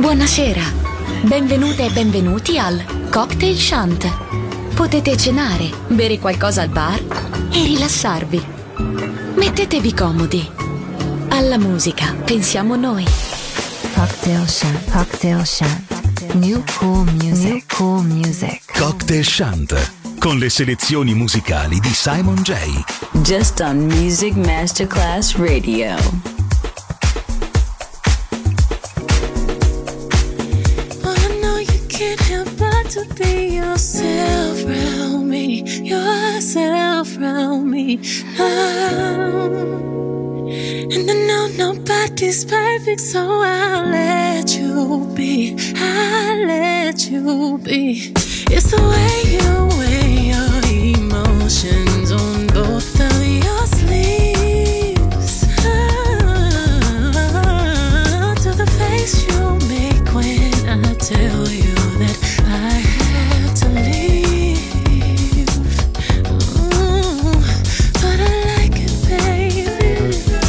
Buonasera, benvenute e benvenuti al Cocktail Shant. Potete cenare, bere qualcosa al bar e rilassarvi. Mettetevi comodi. Alla musica pensiamo noi. Cocktail Shant, Cocktail Shant. New cool music, new cool music. Cocktail Shant, con le selezioni musicali di Simon J. Just on Music Masterclass Radio. To be yourself around me, yourself around me. And I know nobody's perfect, so I'll let you be. I'll let you be. It's the way you weigh your emotions on both of your sleeves. To the face you make when I tell you that I have to leave. Ooh, but I like it, baby.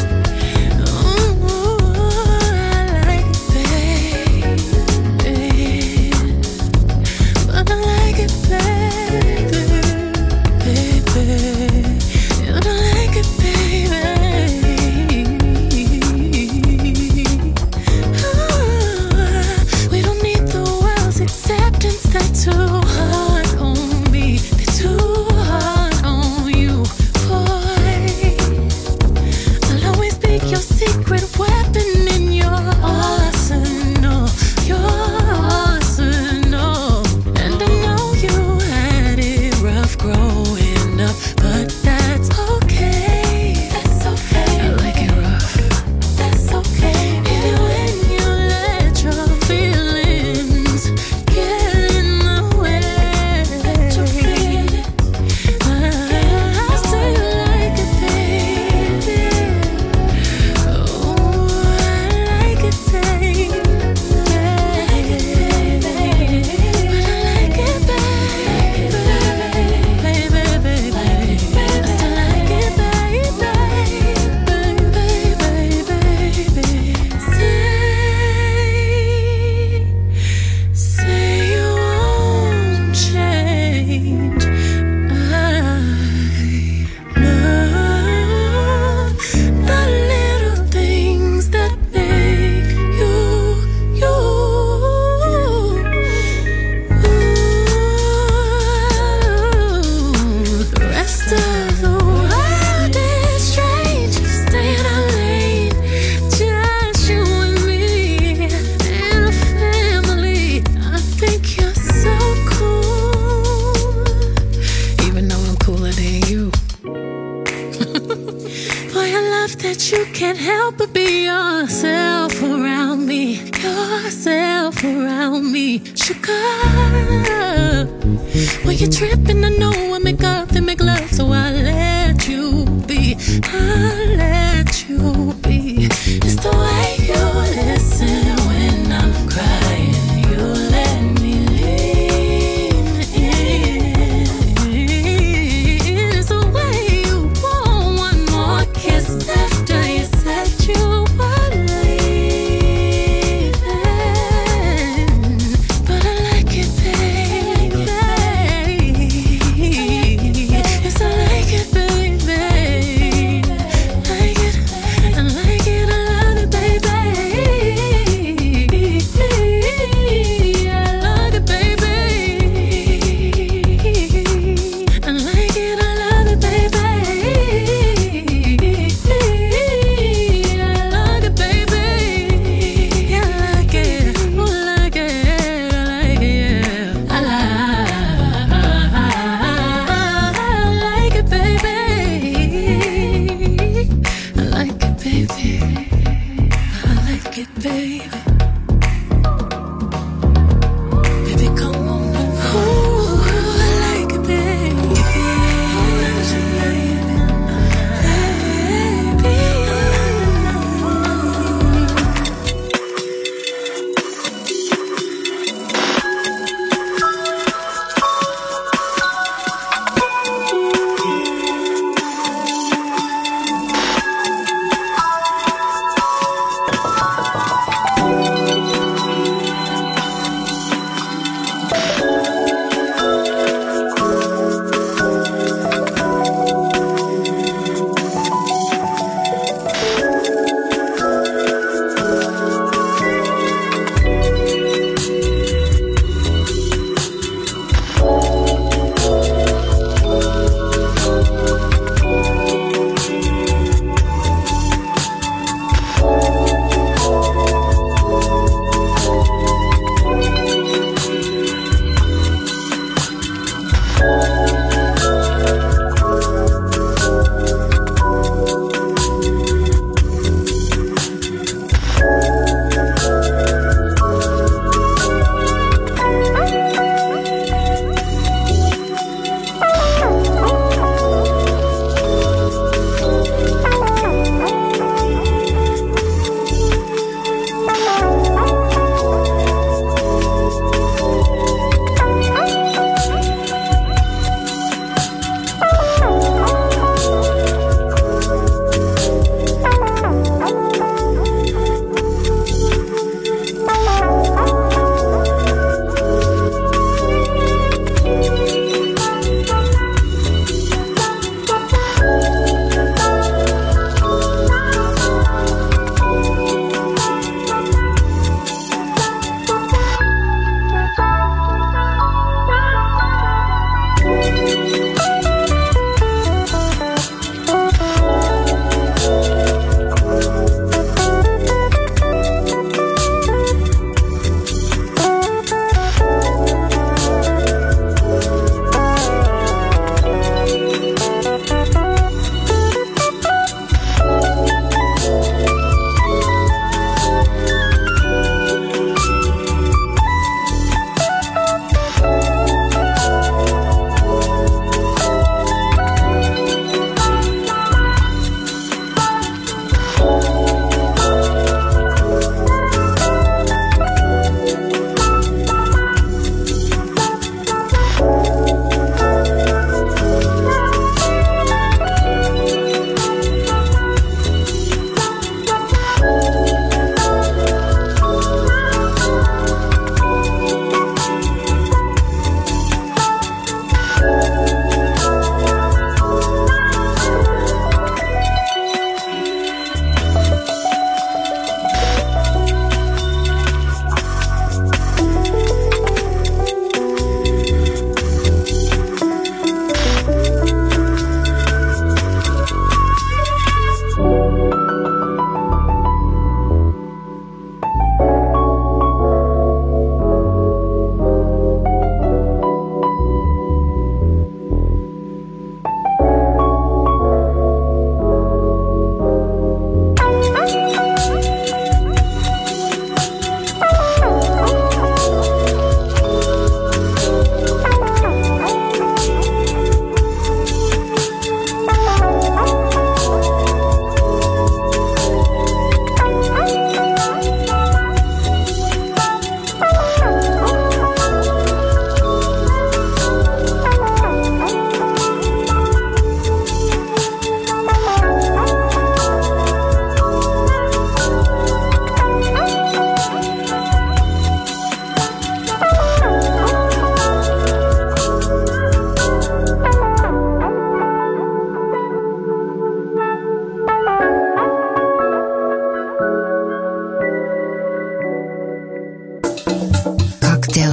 Ooh, I like it, baby. But I like it, baby. Baby, you don't like it, baby. Ooh, we don't need the world's acceptance. They're too hard on me. They're too hard on you, boy. I'll always be your secret weapon in your arsenal. Your arsenal. And I know you had it rough growing up, but that's okay. That's okay. I like it rough. That's okay. Even when you let your feelings get in the way. Let your feelings. I still like it, baby. Oh, I like it, baby. But I like it, baby. Baby, baby. I still like it, baby. Say you won't change. I love the little things that make you, you. Ooh, the rest of the world is strange. Stay in our lane, just you and me and a family. I think you're so cool, even though I'm cooler than you. Boy, I love that you can't help but be yourself around me. Yourself around me. Sugar, when you're tripping, I know I make up and make love, so I let you be. I let you be. It's the way you listen when I'm crying. You let me lean in. It's the way you want one more kiss after you said you were leaving. But I like it, baby. Yes, I like it, baby. Like it, I like it, I love it, baby. I love it, baby. I like it, I love it, baby. I love it, baby. I like it, I like it, I like it, yeah. I like it, baby. I like it, baby. I like it, baby. Baby, come on. Ooh, I like it, baby. Baby.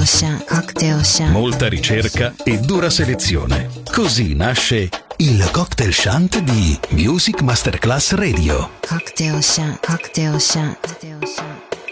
Cocktail Shant. Molta ricerca e dura selezione. Così nasce il Cocktail Shant di Music Masterclass Radio. Cocktail Shant. Cocktail Shant. Cocktail Shant.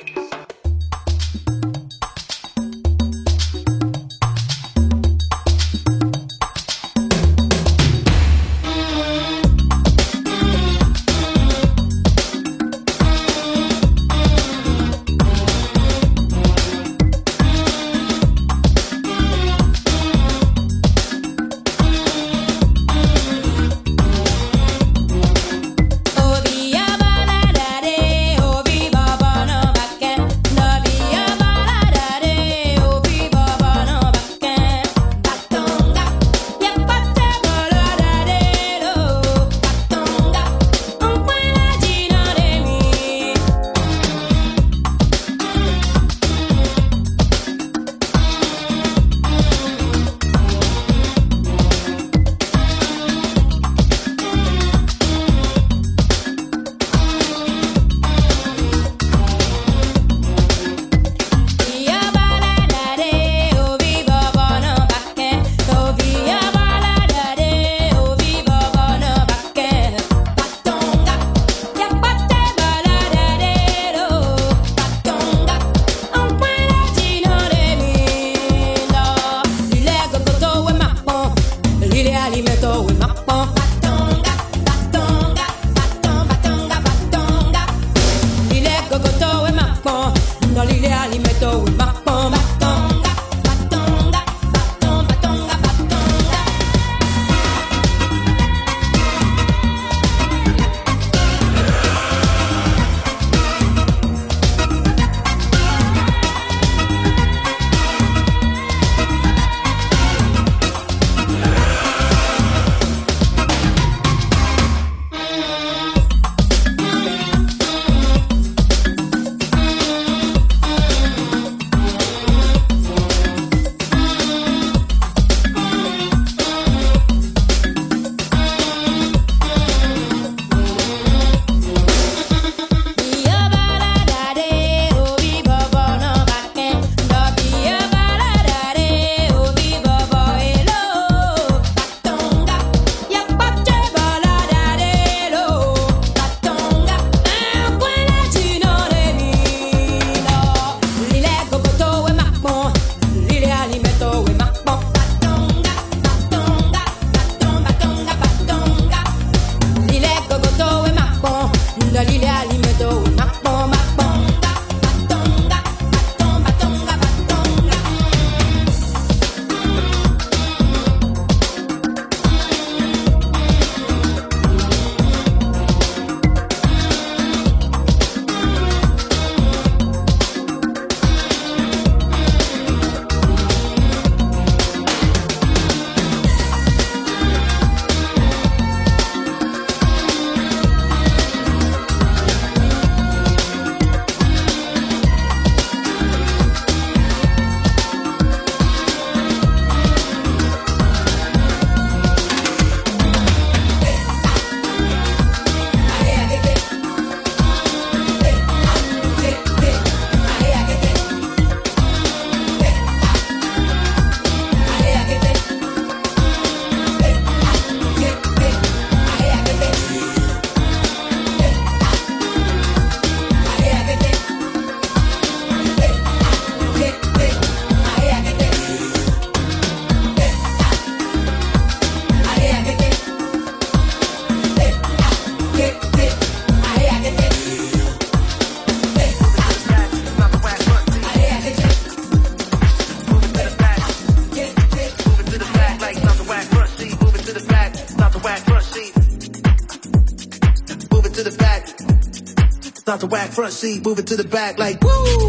Start the whack front seat, move it to the back like woo.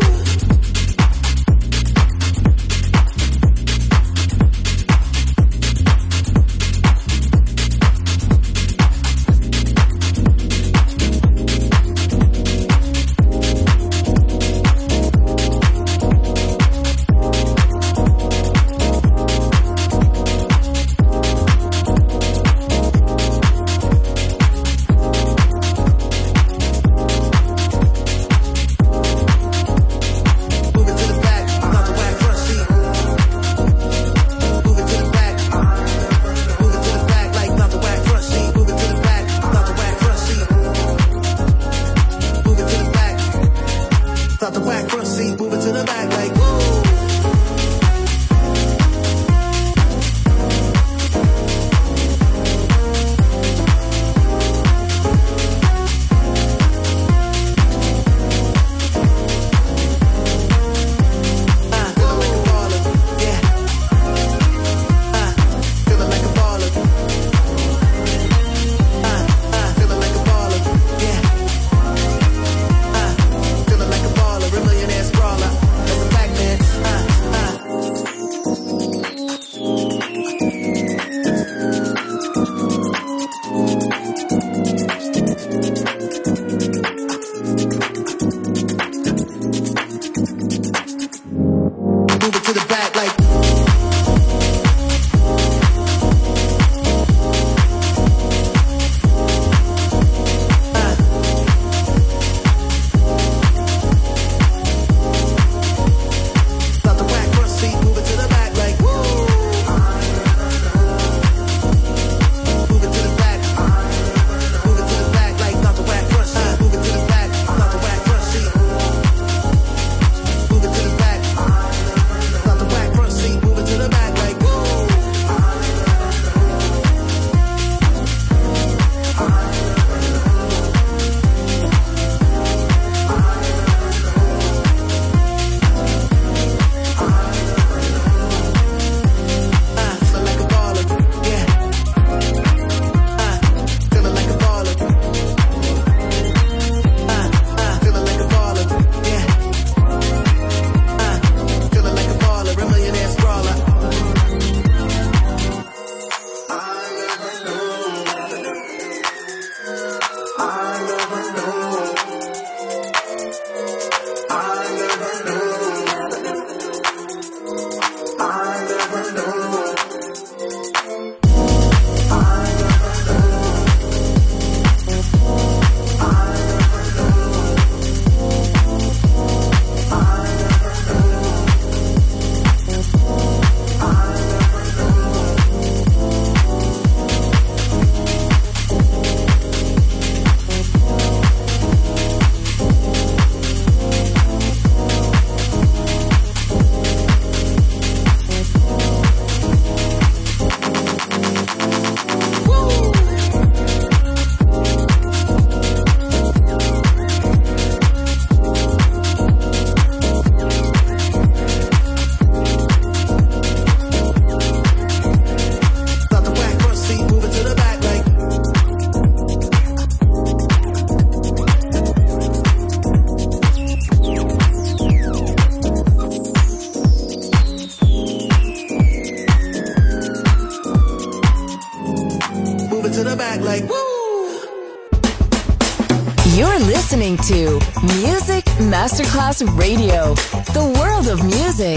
listening to Music Masterclass Radio, the world of music.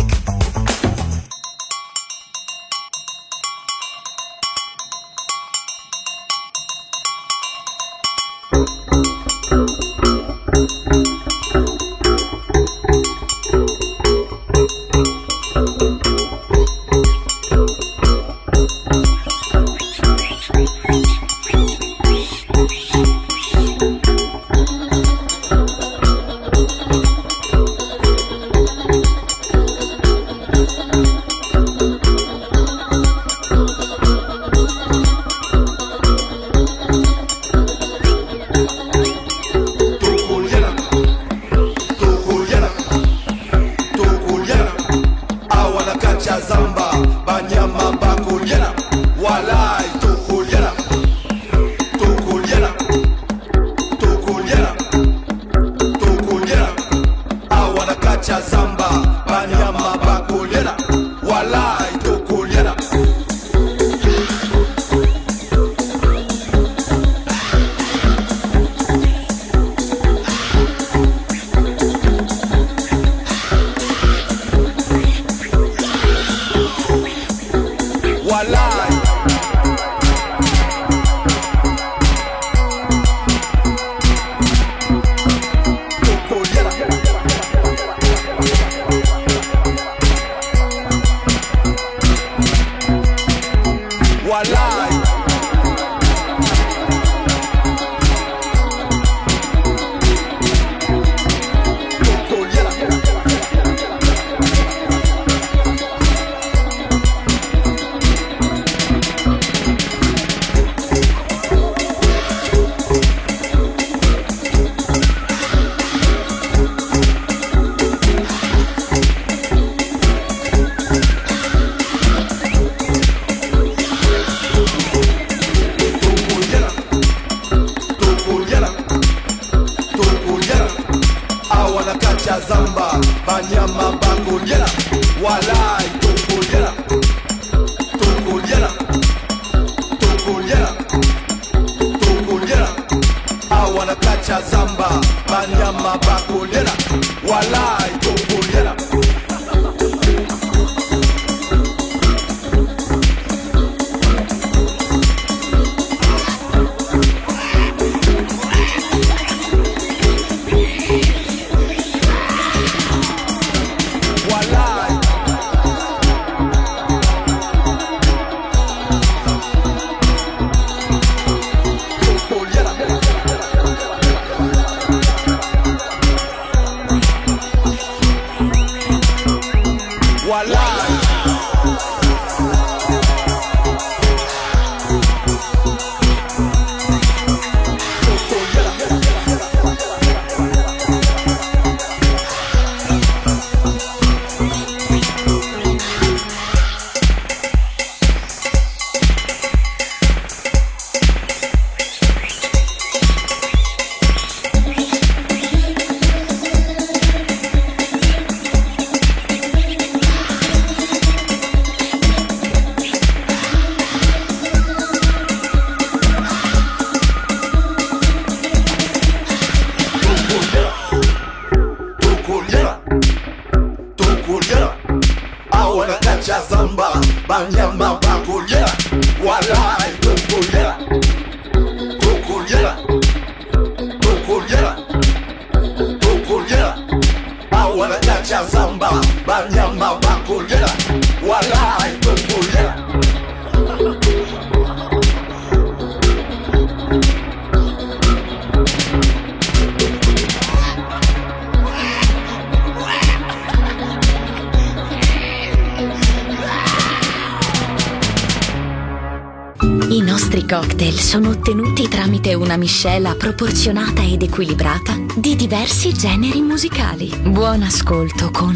I nostri cocktail sono ottenuti tramite una miscela proporzionata ed equilibrata di diversi generi musicali. Buon ascolto con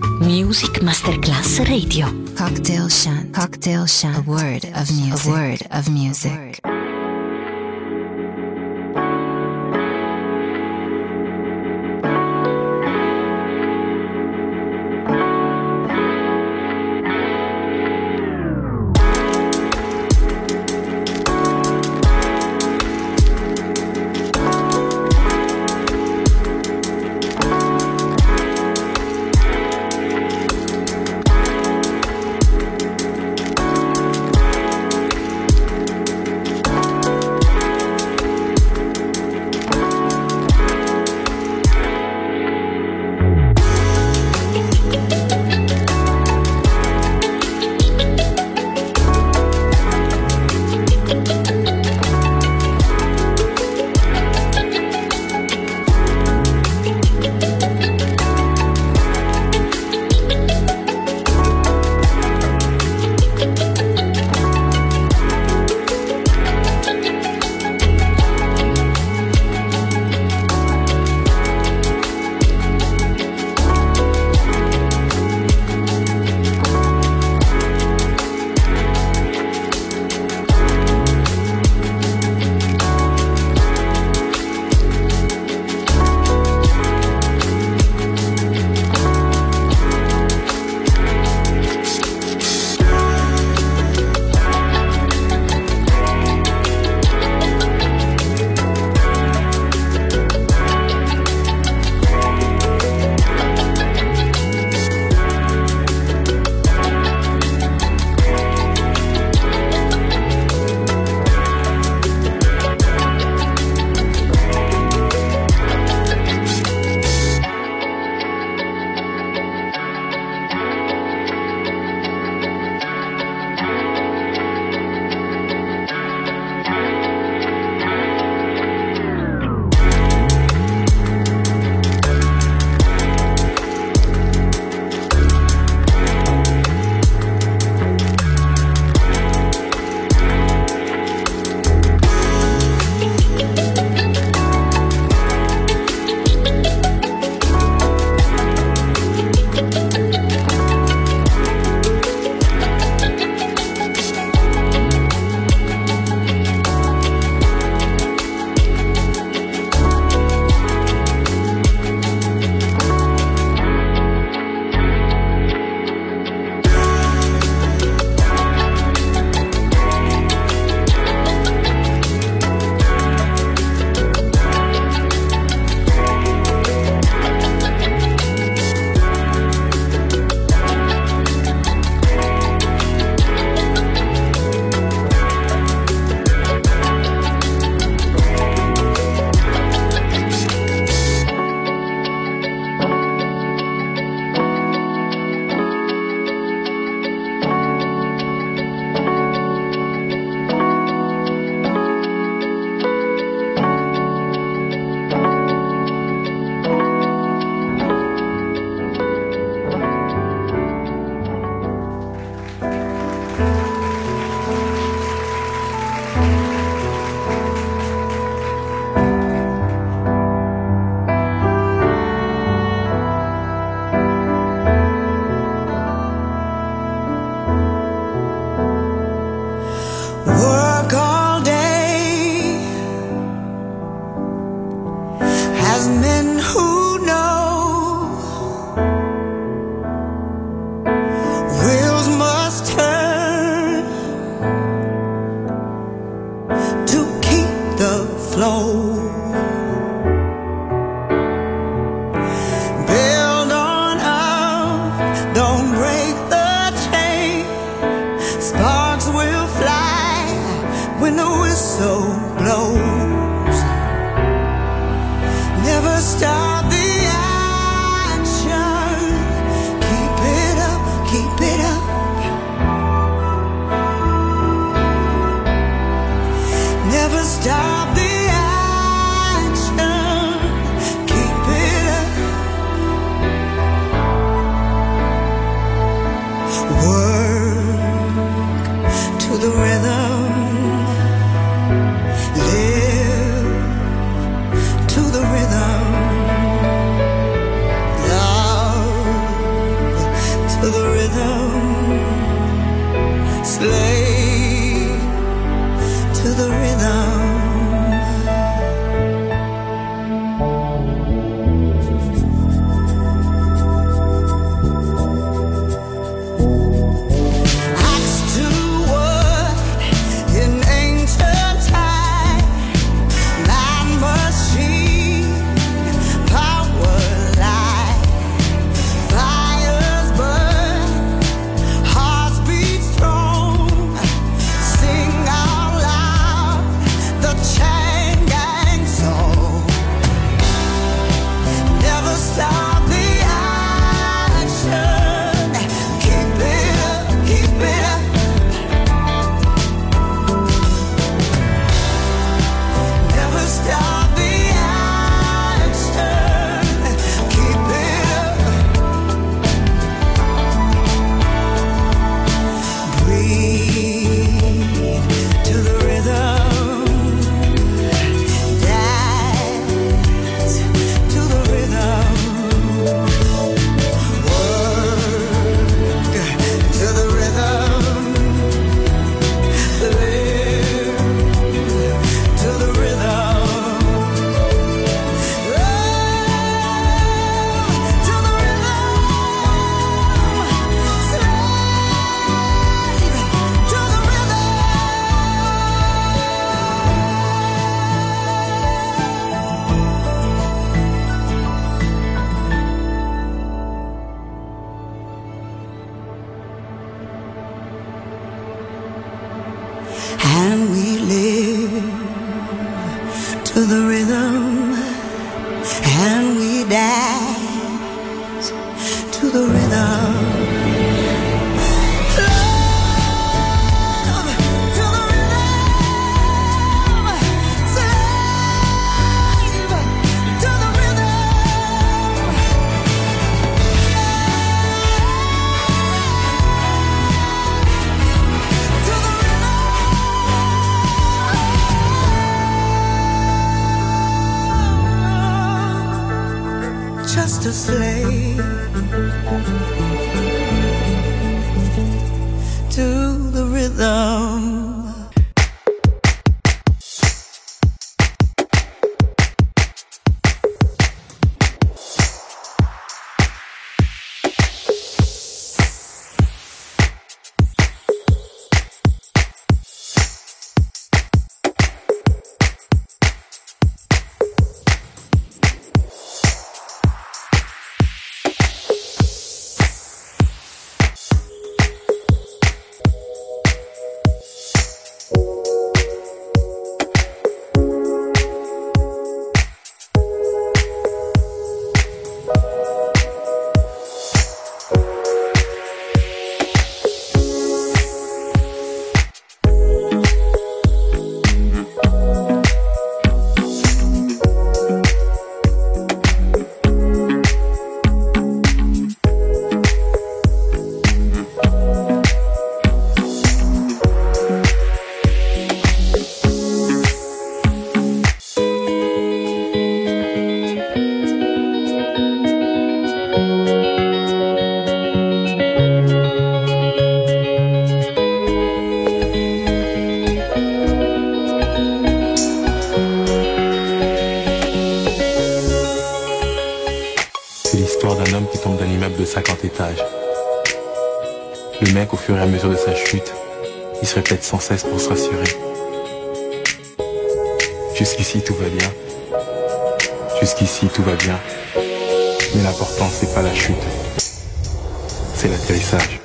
Music Masterclass Radio. Cocktail Shant. Cocktail Shant. A word of music. A word of music. stop the action. Keep it up, keep it up. Never stop the action. Keep it up. Work to the rhythm. Live to the rhythm. Love to the rhythm. Slave to the rhythm. Axe to wood in ancient time. Man, machine, power, light. Fires burn, hearts beat strong. Sing out loud the chain gang song. Never stop the action. Keep it up, keep it up. Never stop the action. Keep it up. Breathe to the rhythm. Dance to the rhythm. Work to the rhythm. Live to the rhythm. To the rhythm. Slave to the rhythm. And we live to the rhythm, and we dance to the rhythm. Love to the rhythm, slave to the rhythm. To the rhythm. Just a slave to the rhythm. C'est l'histoire d'un homme qui tombe d'un immeuble de 50 étages. Le mec, au fur et à mesure de sa chute, il se répète sans cesse pour se rassurer. Jusqu'ici tout va bien. Jusqu'ici tout va bien. Mais l'important c'est pas la chute, c'est l'atterrissage.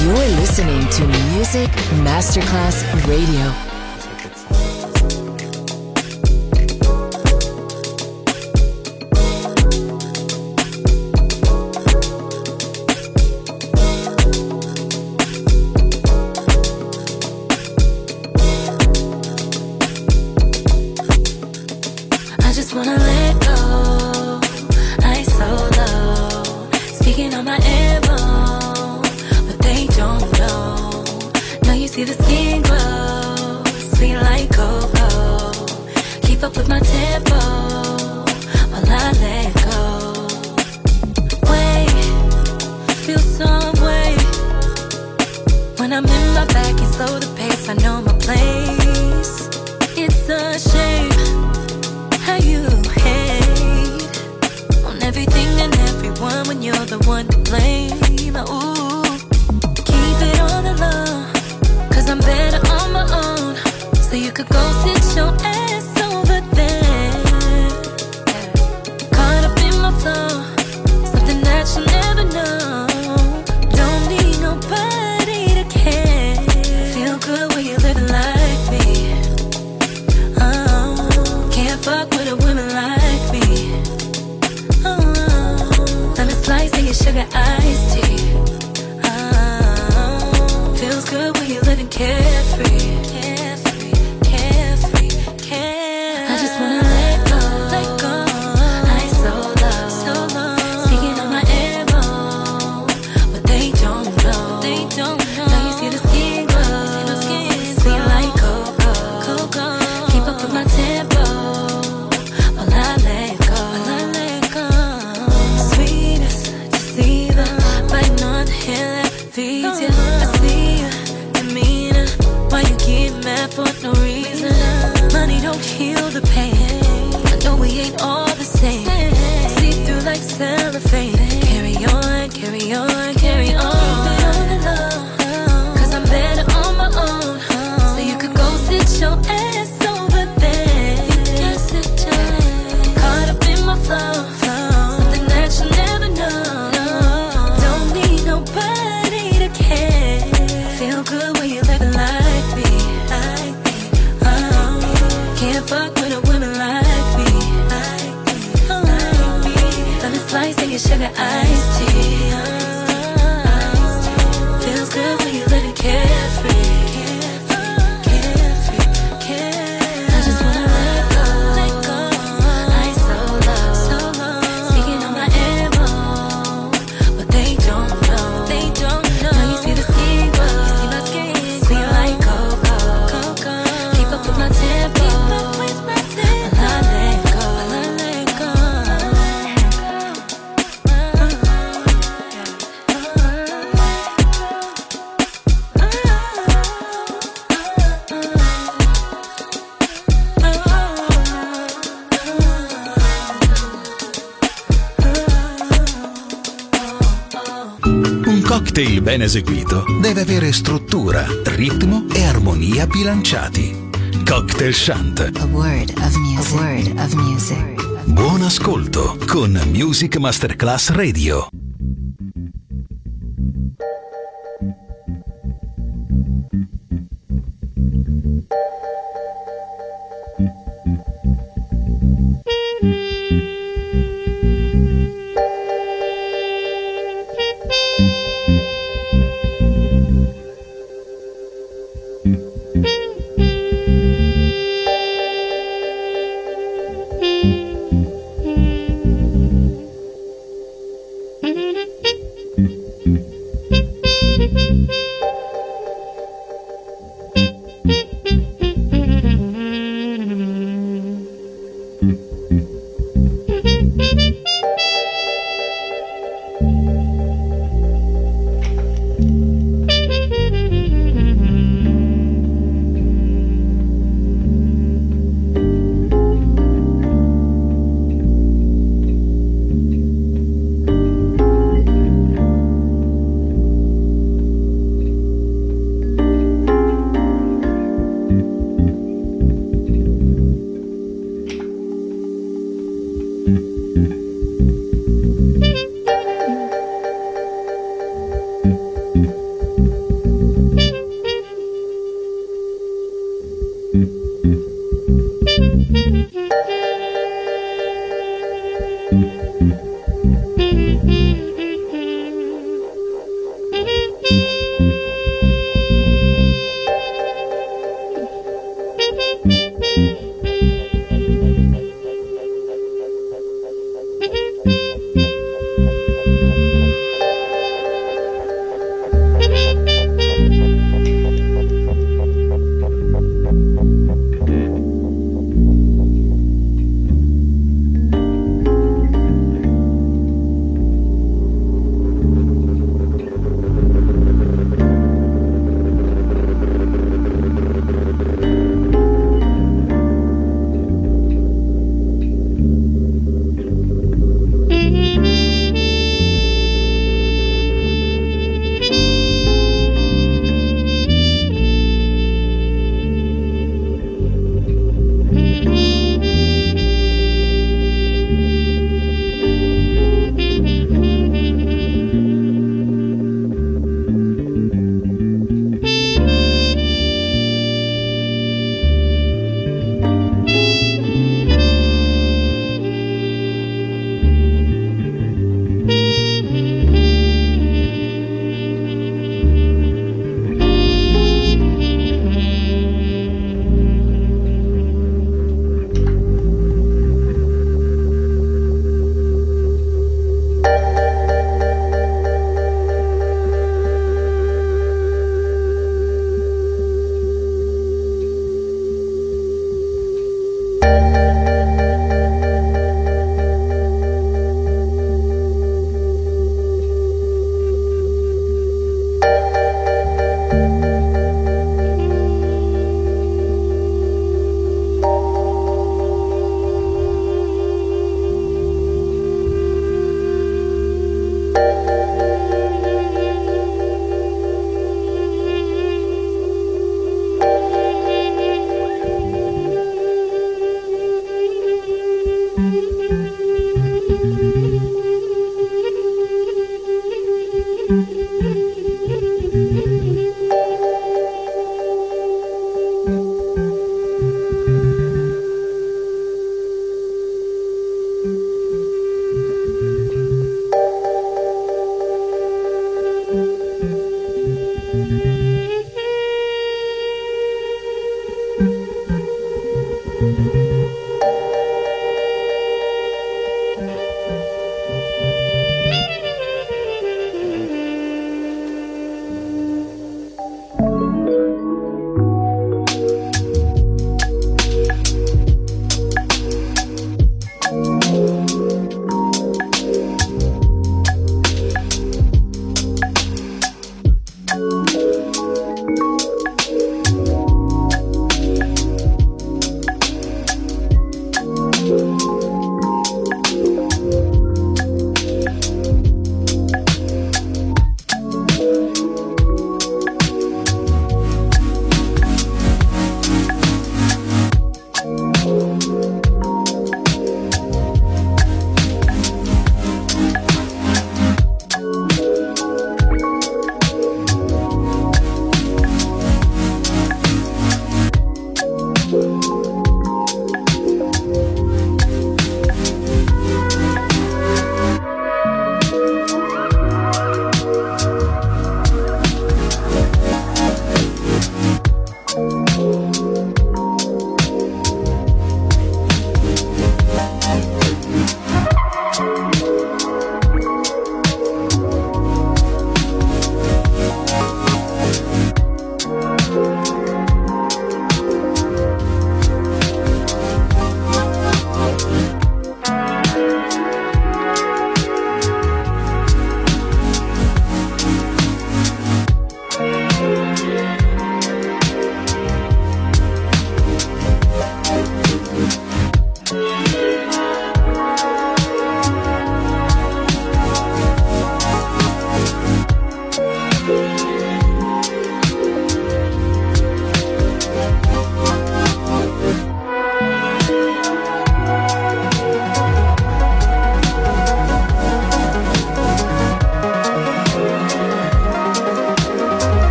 You're listening to Music Masterclass Radio. I just wanna let go. I so low, speaking on my elbow, but they don't know. Now you see the skin glow, sweet like cocoa. Keep up with my tempo while I let go. Wait, feel some way. When I'm in my bag, you slow the pace. I know my place. It's a shame how you hate on everything and everyone when you're the one to blame. Ooh, keep it on the low, 'cause I'm better on my own. So you could go sit your ass over there. Caught up in my flow, something that you never know. Don't need nobody to care. Feel good when you're living like me. Can't fuck with a woman like me. Lemon slice and your sugar iced tea. Feels good when you're living carefree. Carefree, carefree, carefree. I just wanna let go, let go. I so low, so low. Speaking on my elbow, but they don't know, they don't know. Now you see the skin glow, sweet like cocoa, cocoa. Keep up with my tempo while I let go, while I let go. Sweetest deceiver, biting on the heel that feeds you. I see your demeanor, why you get mad for no reason. Money don't heal the pain. I know we ain't all the same. See through like cellophane. Carry on, carry on, carry on. Keep it on the low, 'cause I'm better on my own. So you could go sit your ass over there. Caught up in my flow, something that you never know. Don't need nobody to care. Feel good when you're living like me. Can't fuck with a woman like me. Lemon slice and your sugar iced tea. Feels good when you're living carefree. Carefree, carefree. I just wanna let go, let go. I so low, so low. Speaking on my elbow, but they don't know, they don't know. Now you see the skin glow, you see my skin sweet like cocoa, cocoa. Keep up with my tempo, keep up with my tempo. While I let go, while I let go. Un cocktail ben eseguito deve avere struttura, ritmo e armonia bilanciati. Cocktail Shant. A word of music. A word of music. Buon ascolto con Music Masterclass Radio. Mm-hmm.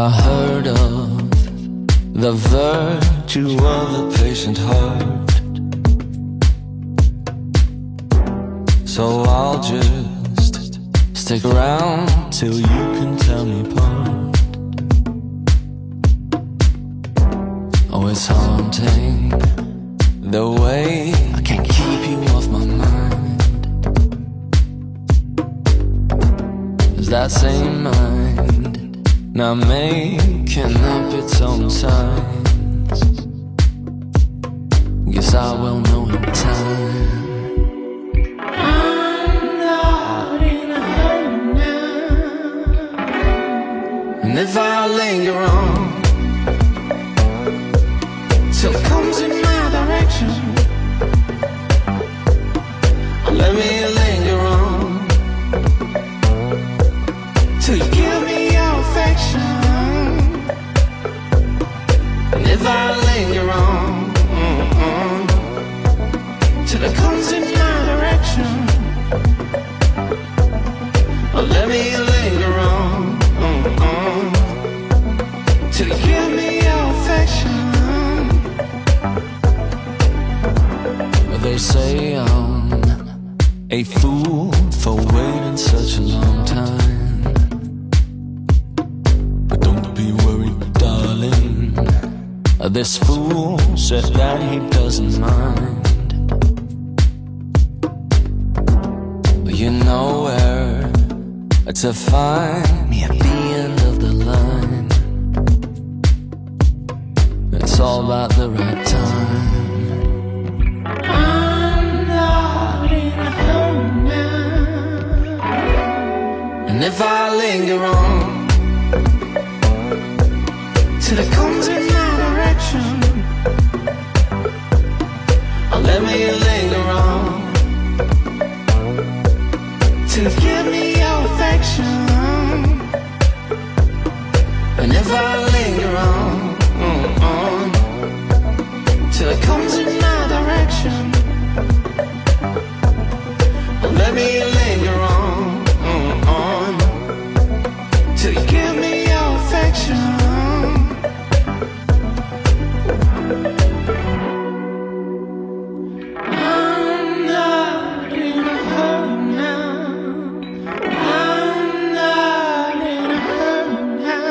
I heard of the virtue of the patient heart, so I'll just stick around till you can tell me apart. Oh, it's haunting the way I can't keep you off my mind. Is that same mind now making up its own signs? Guess I will know in time. I'm not in a hurry now, and if I linger on till it comes in my direction, let me linger on till you give me your affection. And if I linger on till it comes in my direction, let me linger on till you give me your affection. They say I'm a fool for waiting such a long time, but don't be worried, darling. This fool said that he doesn't mind. You know where to find me at the end of the line. It's all about the right time. And if I linger on till it comes in my direction, let me linger on till you give me your affection. And if I linger on till it comes in my direction, let me linger on till you give me your affection. I'm not in a hurry now. I'm not in a hurry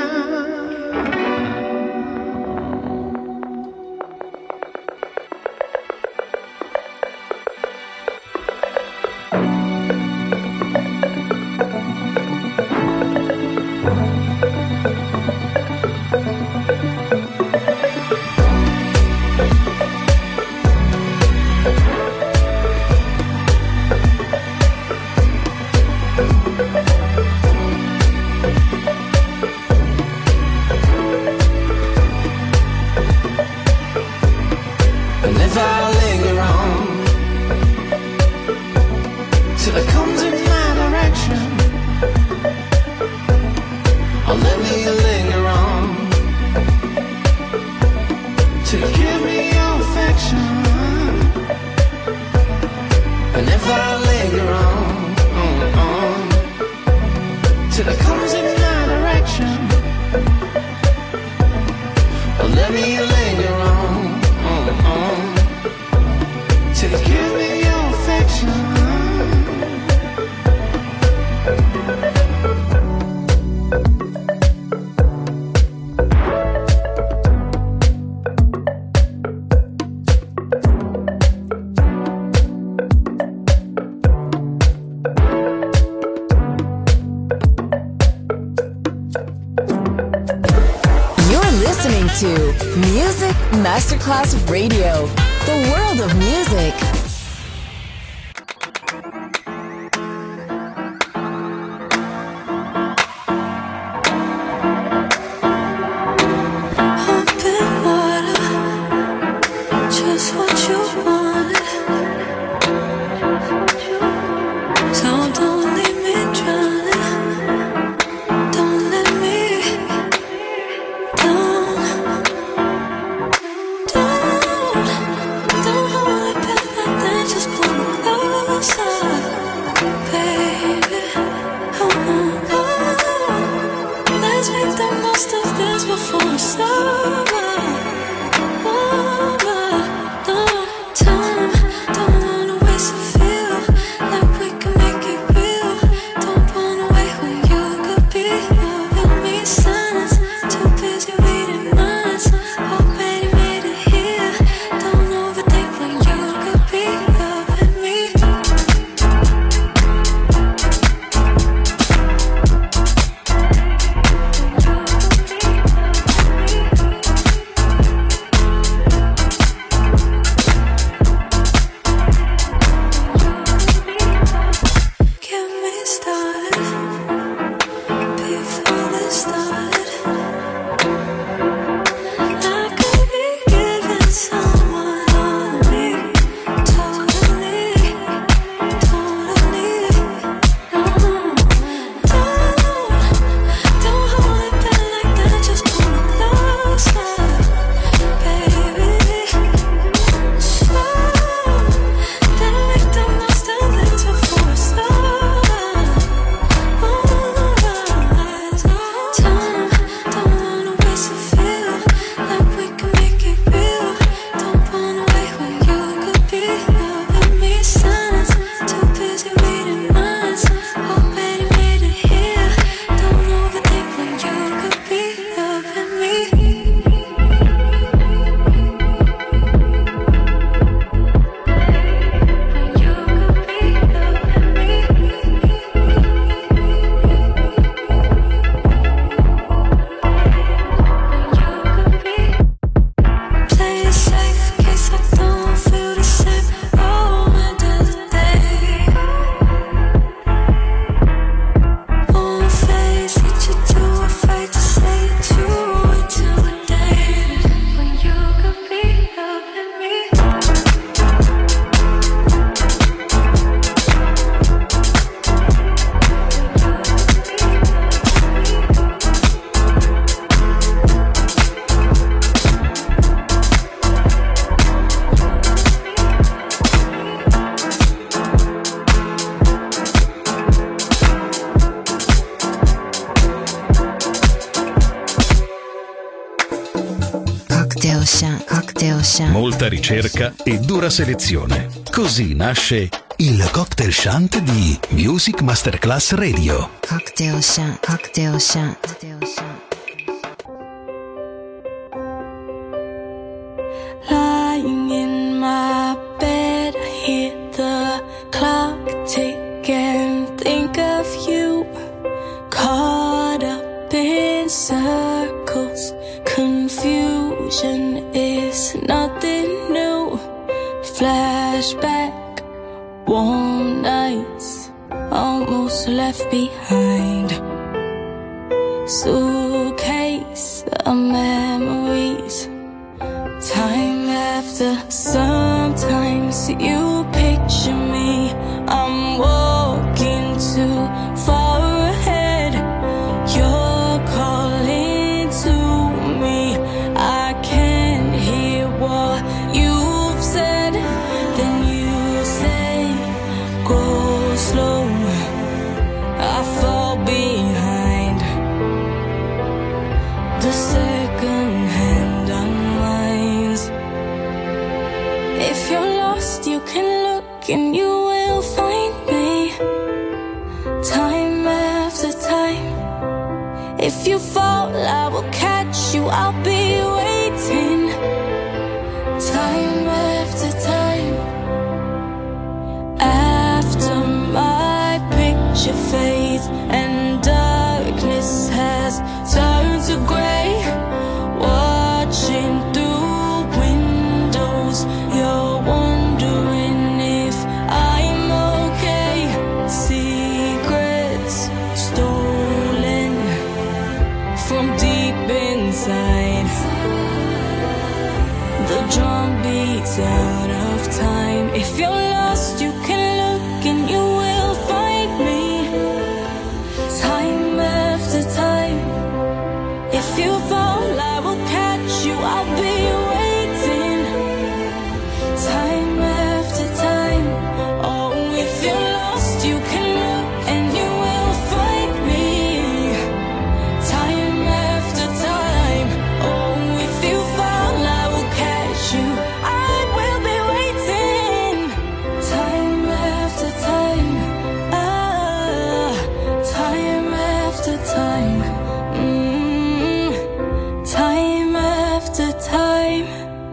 Music Masterclass Radio, the world of music. Don't hold it back like that. Molta ricerca e dura selezione. Così nasce il Cocktail Shant di Music Masterclass Radio. Cocktail Shant, Cocktail Shant, Cocktail Shant. Lying in my bed, I hear the clock tick and think of you. Caught up in circles, confusion is nothing new. Flashback, warm nights, almost left behind. Suitcase of memories. Time after, sometimes you picture me. I'm walking too far ahead. You're calling to me. I can't hear what you've said. Then you say, go slow. I fall behind. The second hand unwinds. If you're lost, you can look and you will find me. Time after time. If you fall, I will catch you. I'll be waiting. Time after time. After my picture fades and darkness has turned to gray, watching through windows, you're wondering if I'm okay. Secrets stolen from deep inside. The drum beats out of time. If you're lost, you can look and you will find me. Time after time. If you fall, I will catch you. I'll be waiting. Time after time. Oh, if you're lost, you can look and you will find me. Time after time. Oh. after time.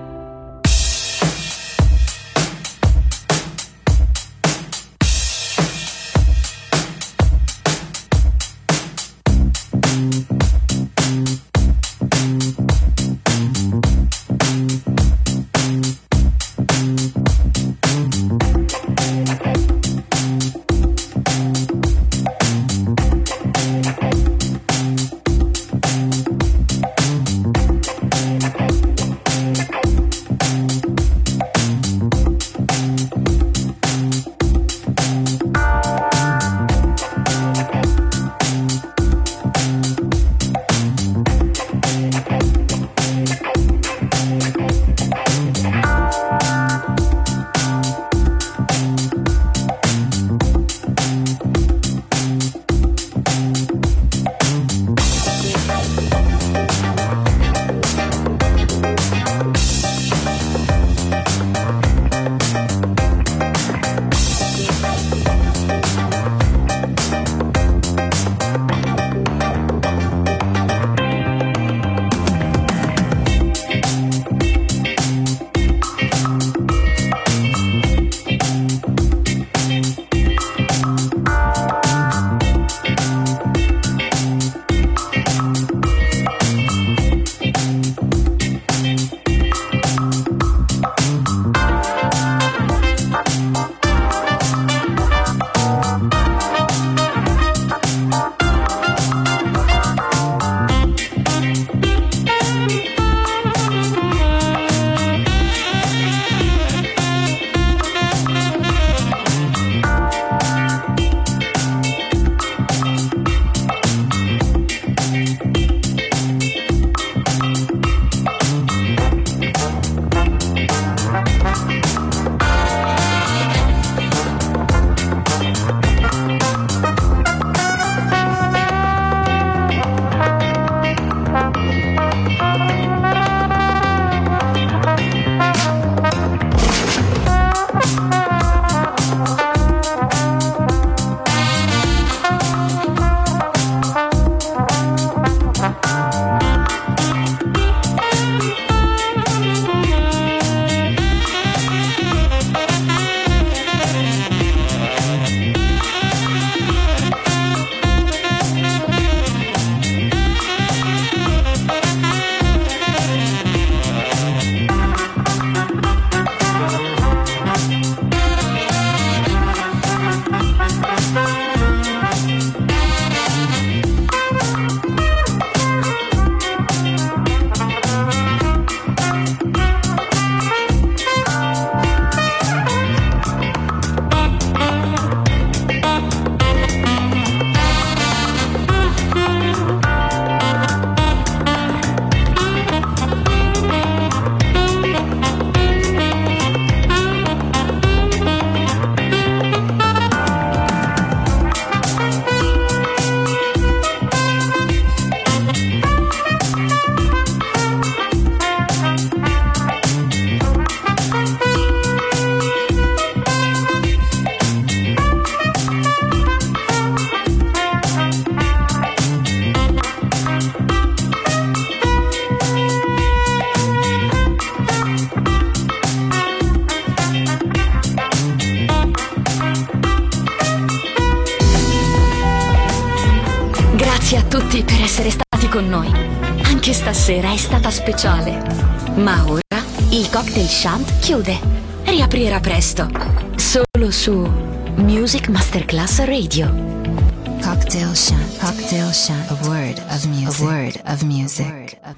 Grazie a tutti per essere stati con noi. Anche stasera è stata speciale. Ma ora il Cocktail Shant chiude. Riaprirà presto. Solo su Music Masterclass Radio. Cocktail Shant. Cocktail Shant. A word of music. A word of music.